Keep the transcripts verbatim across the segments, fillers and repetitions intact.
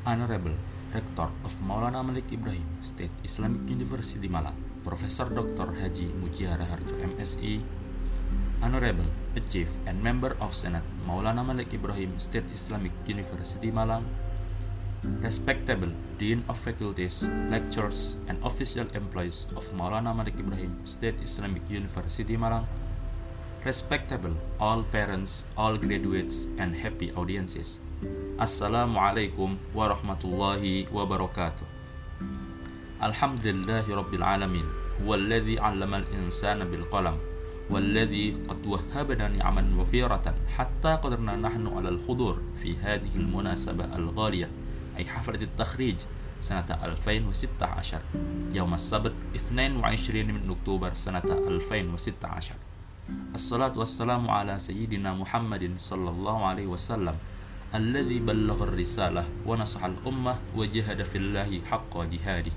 Honorable Rector of Maulana Malik Ibrahim State Islamic University Malang, Profesor Doktor Haji Mujiono Harjo M Si, Honorable a Chief and Member of Senate Maulana Malik Ibrahim State Islamic University Malang, Respectable Dean of Faculties, Lecturers, and Official Employees of Maulana Malik Ibrahim State Islamic University Malang, Respectable all parents, all graduates, and happy audiences. Assalamualaikum warahmatullahi wabarakatuh. Alhamdulillahi rabbil alamin, walladzi 'allamal insana bil qalam, walladzi qad wahhabana ni'aman wafiratan hatta qadarna nahnu 'alal hudur fi hadhihi al munasabah al ghaliyah ay haflat at takhrij sanata ألفين وستة عشر يوم السبت اثنين وعشرين من أكتوبر سنة ألفين وستة عشر. الصلاة والسلام على سيدنا محمد صلى الله عليه وسلم الذي بلغ الرسالة ونصح الأمة وجهد في الله حق جهاده.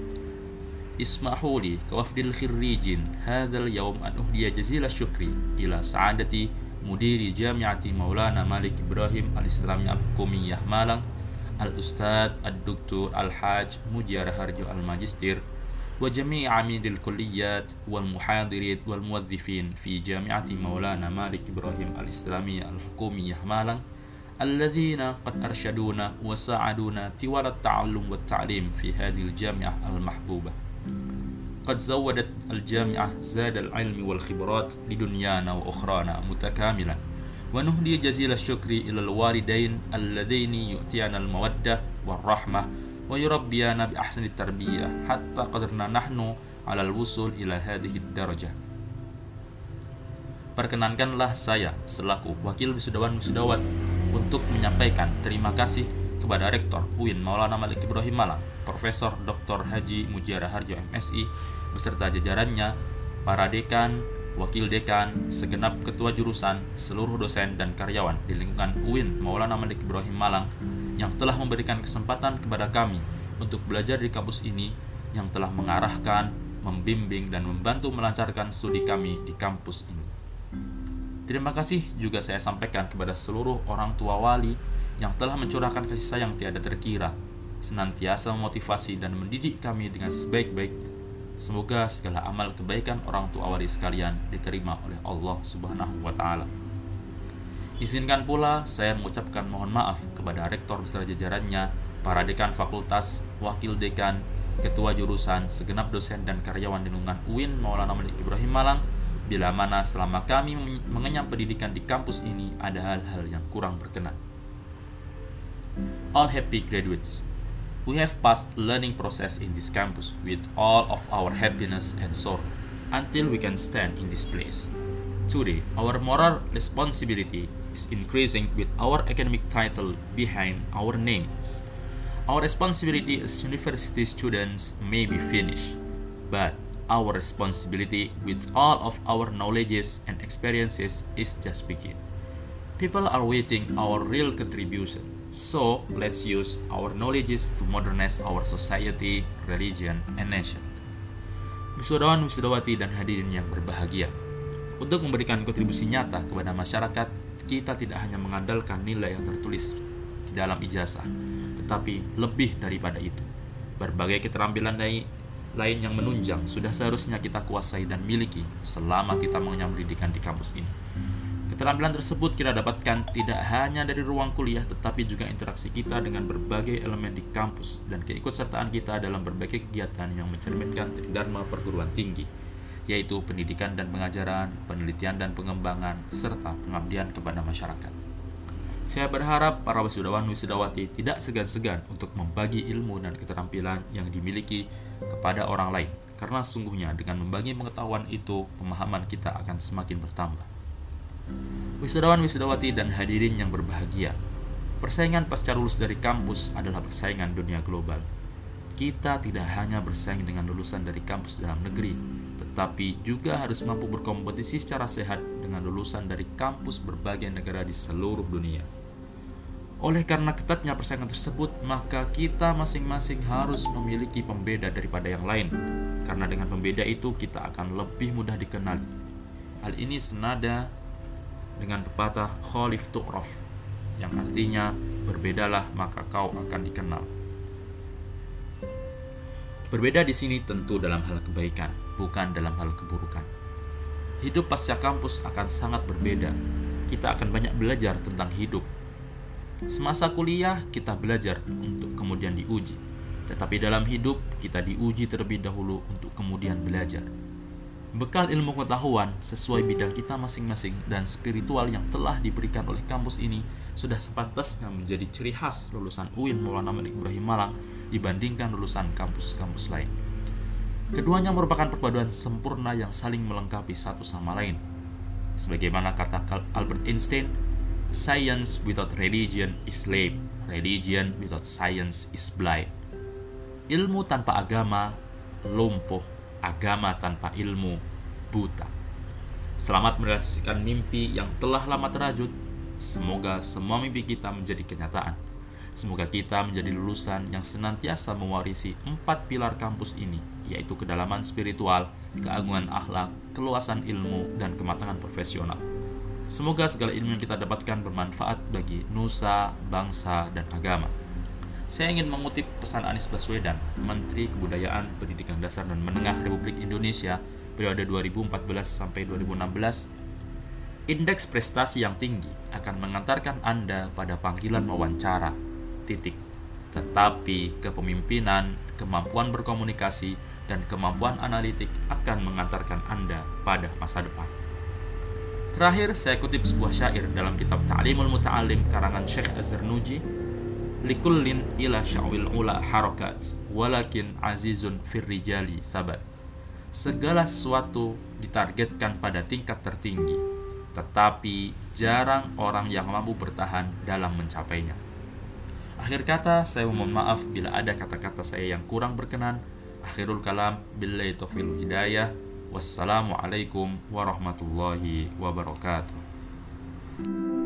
اسمحوا لي كوفد الخريجين هذا اليوم أن أهدي جزيل الشكر إلى سعادة مدير جامعة مولانا مالك إبراهيم الإسلامية الحكومية مالang الأستاذ الدكتور الحاج مجيار هرجو الماجستير وجميع عميد الكليات والمحاضرين والموظفين في جامعة مولانا مالك إبراهيم الإسلامية الحكومية مالang الذين قد أرشدونا وساعدونا طوال التعلم والتعليم في هذه الجامعة المحبوبة. قد زودت الجامعة زاد العلم والخبرات لدنيانا وأخرانا متكاملا، ونهدي جزيل الشكر إلى الوالدين اللذين يؤتيان المودة والرحمة ويربيانا بأحسن التربية حتى قدرنا نحن على الوصول إلى هذه الدرجة. Perkenankanlah saya selaku wakil wisudawan-wisudawat untuk menyampaikan terima kasih kepada Rektor U I N Maulana Malik Ibrahim Malang, Profesor Doktor Haji Mujiono Harjo M Si beserta jajarannya, para dekan, wakil dekan, segenap ketua jurusan, seluruh dosen dan karyawan di lingkungan U I N Maulana Malik Ibrahim Malang yang telah memberikan kesempatan kepada kami untuk belajar di kampus ini, yang telah mengarahkan, membimbing, dan membantu melancarkan studi kami di kampus ini. Terima kasih juga saya sampaikan kepada seluruh orang tua wali yang telah mencurahkan kasih sayang tiada terkira, senantiasa memotivasi dan mendidik kami dengan sebaik-baik. Semoga segala amal kebaikan orang tua wali sekalian diterima oleh Allah Subhanahu wa Ta'ala. Izinkan pula saya mengucapkan mohon maaf kepada rektor beserta jajarannya, para dekan fakultas, wakil dekan, ketua jurusan, segenap dosen dan karyawan di lingkungan U I N Maulana Malik Ibrahim Malang, bila mana selama kami mengenyam pendidikan di kampus ini ada hal-hal yang kurang berkenan. All happy graduates, we have passed learning process in this campus with all of our happiness and sorrow until we can stand in this place. Today, our moral responsibility is increasing with our academic title behind our names. Our responsibility as university students may be finished, but our responsibility with all of our knowledges and experiences is just begin. People are waiting our real contribution, so let's use our knowledges to modernize our society, religion, and nation. Wisudawan, wisudawati, dan hadirin yang berbahagia, untuk memberikan kontribusi nyata kepada masyarakat, kita tidak hanya mengandalkan nilai yang tertulis di dalam ijazah, tetapi lebih daripada itu. Berbagai keterampilan lain yang menunjang sudah seharusnya kita kuasai dan miliki selama kita mengenyam pendidikan di kampus ini. Keterampilan tersebut kita dapatkan tidak hanya dari ruang kuliah, tetapi juga interaksi kita dengan berbagai elemen di kampus dan keikutsertaan kita dalam berbagai kegiatan yang mencerminkan tridharma perguruan tinggi, yaitu pendidikan dan pengajaran, penelitian dan pengembangan, serta pengabdian kepada masyarakat. Saya berharap para wisudawan-wisudawati tidak segan-segan untuk membagi ilmu dan keterampilan yang dimiliki kepada orang lain, karena sungguhnya dengan membagi pengetahuan itu, pemahaman kita akan semakin bertambah. Wisudawan-wisudawati dan hadirin yang berbahagia, persaingan pasca lulus dari kampus adalah persaingan dunia global. Kita tidak hanya bersaing dengan lulusan dari kampus dalam negeri, tetapi juga harus mampu berkompetisi secara sehat dengan lulusan dari kampus berbagai negara di seluruh dunia. Oleh karena ketatnya persaingan tersebut, maka kita masing-masing harus memiliki pembeda daripada yang lain, karena dengan pembeda itu kita akan lebih mudah dikenali. Hal ini senada dengan pepatah Khalif Tu'raf, yang artinya berbedalah maka kau akan dikenal. Berbeda di sini tentu dalam hal kebaikan, bukan dalam hal keburukan. Hidup pasca kampus akan sangat berbeda. Kita akan banyak belajar tentang hidup. Semasa kuliah, kita belajar untuk kemudian diuji. Tetapi dalam hidup, kita diuji terlebih dahulu untuk kemudian belajar. Bekal ilmu pengetahuan sesuai bidang kita masing-masing dan spiritual yang telah diberikan oleh kampus ini sudah sepantasnya menjadi ciri khas lulusan U I N Maulana Malik Ibrahim Malang dibandingkan lulusan kampus-kampus lain. Keduanya merupakan perpaduan sempurna yang saling melengkapi satu sama lain. Sebagaimana kata Albert Einstein, "Science without religion is lame, religion without science is blind." Ilmu tanpa agama lumpuh, agama tanpa ilmu buta. Selamat merealisasikan mimpi yang telah lama terajut. Semoga semua mimpi kita menjadi kenyataan. Semoga kita menjadi lulusan yang senantiasa mewarisi empat pilar kampus ini, yaitu kedalaman spiritual, keagungan akhlak, keluasan ilmu, dan kematangan profesional. Semoga segala ilmu yang kita dapatkan bermanfaat bagi nusa, bangsa, dan agama. Saya ingin mengutip pesan Anies Baswedan, Menteri Kebudayaan, Pendidikan Dasar dan Menengah Republik Indonesia periode dua ribu empat belas sampai dua ribu enam belas. Indeks prestasi yang tinggi akan mengantarkan Anda pada panggilan wawancara, titik. Tetapi kepemimpinan, kemampuan berkomunikasi, dan kemampuan analitik akan mengantarkan Anda pada masa depan. Terakhir, saya kutip sebuah syair dalam kitab Ta'limul Muta'alim karangan Syekh Az-Zarnuji, "Likullin ila sya'wil ula harakat, walakin azizun firrijali thabat." Segala sesuatu ditargetkan pada tingkat tertinggi, tetapi jarang orang yang mampu bertahan dalam mencapainya. Akhir kata, saya mohon maaf bila ada kata-kata saya yang kurang berkenan. Akhirul kalam, billahi taufiq hidayah. Wassalamualaikum warahmatullahi wabarakatuh.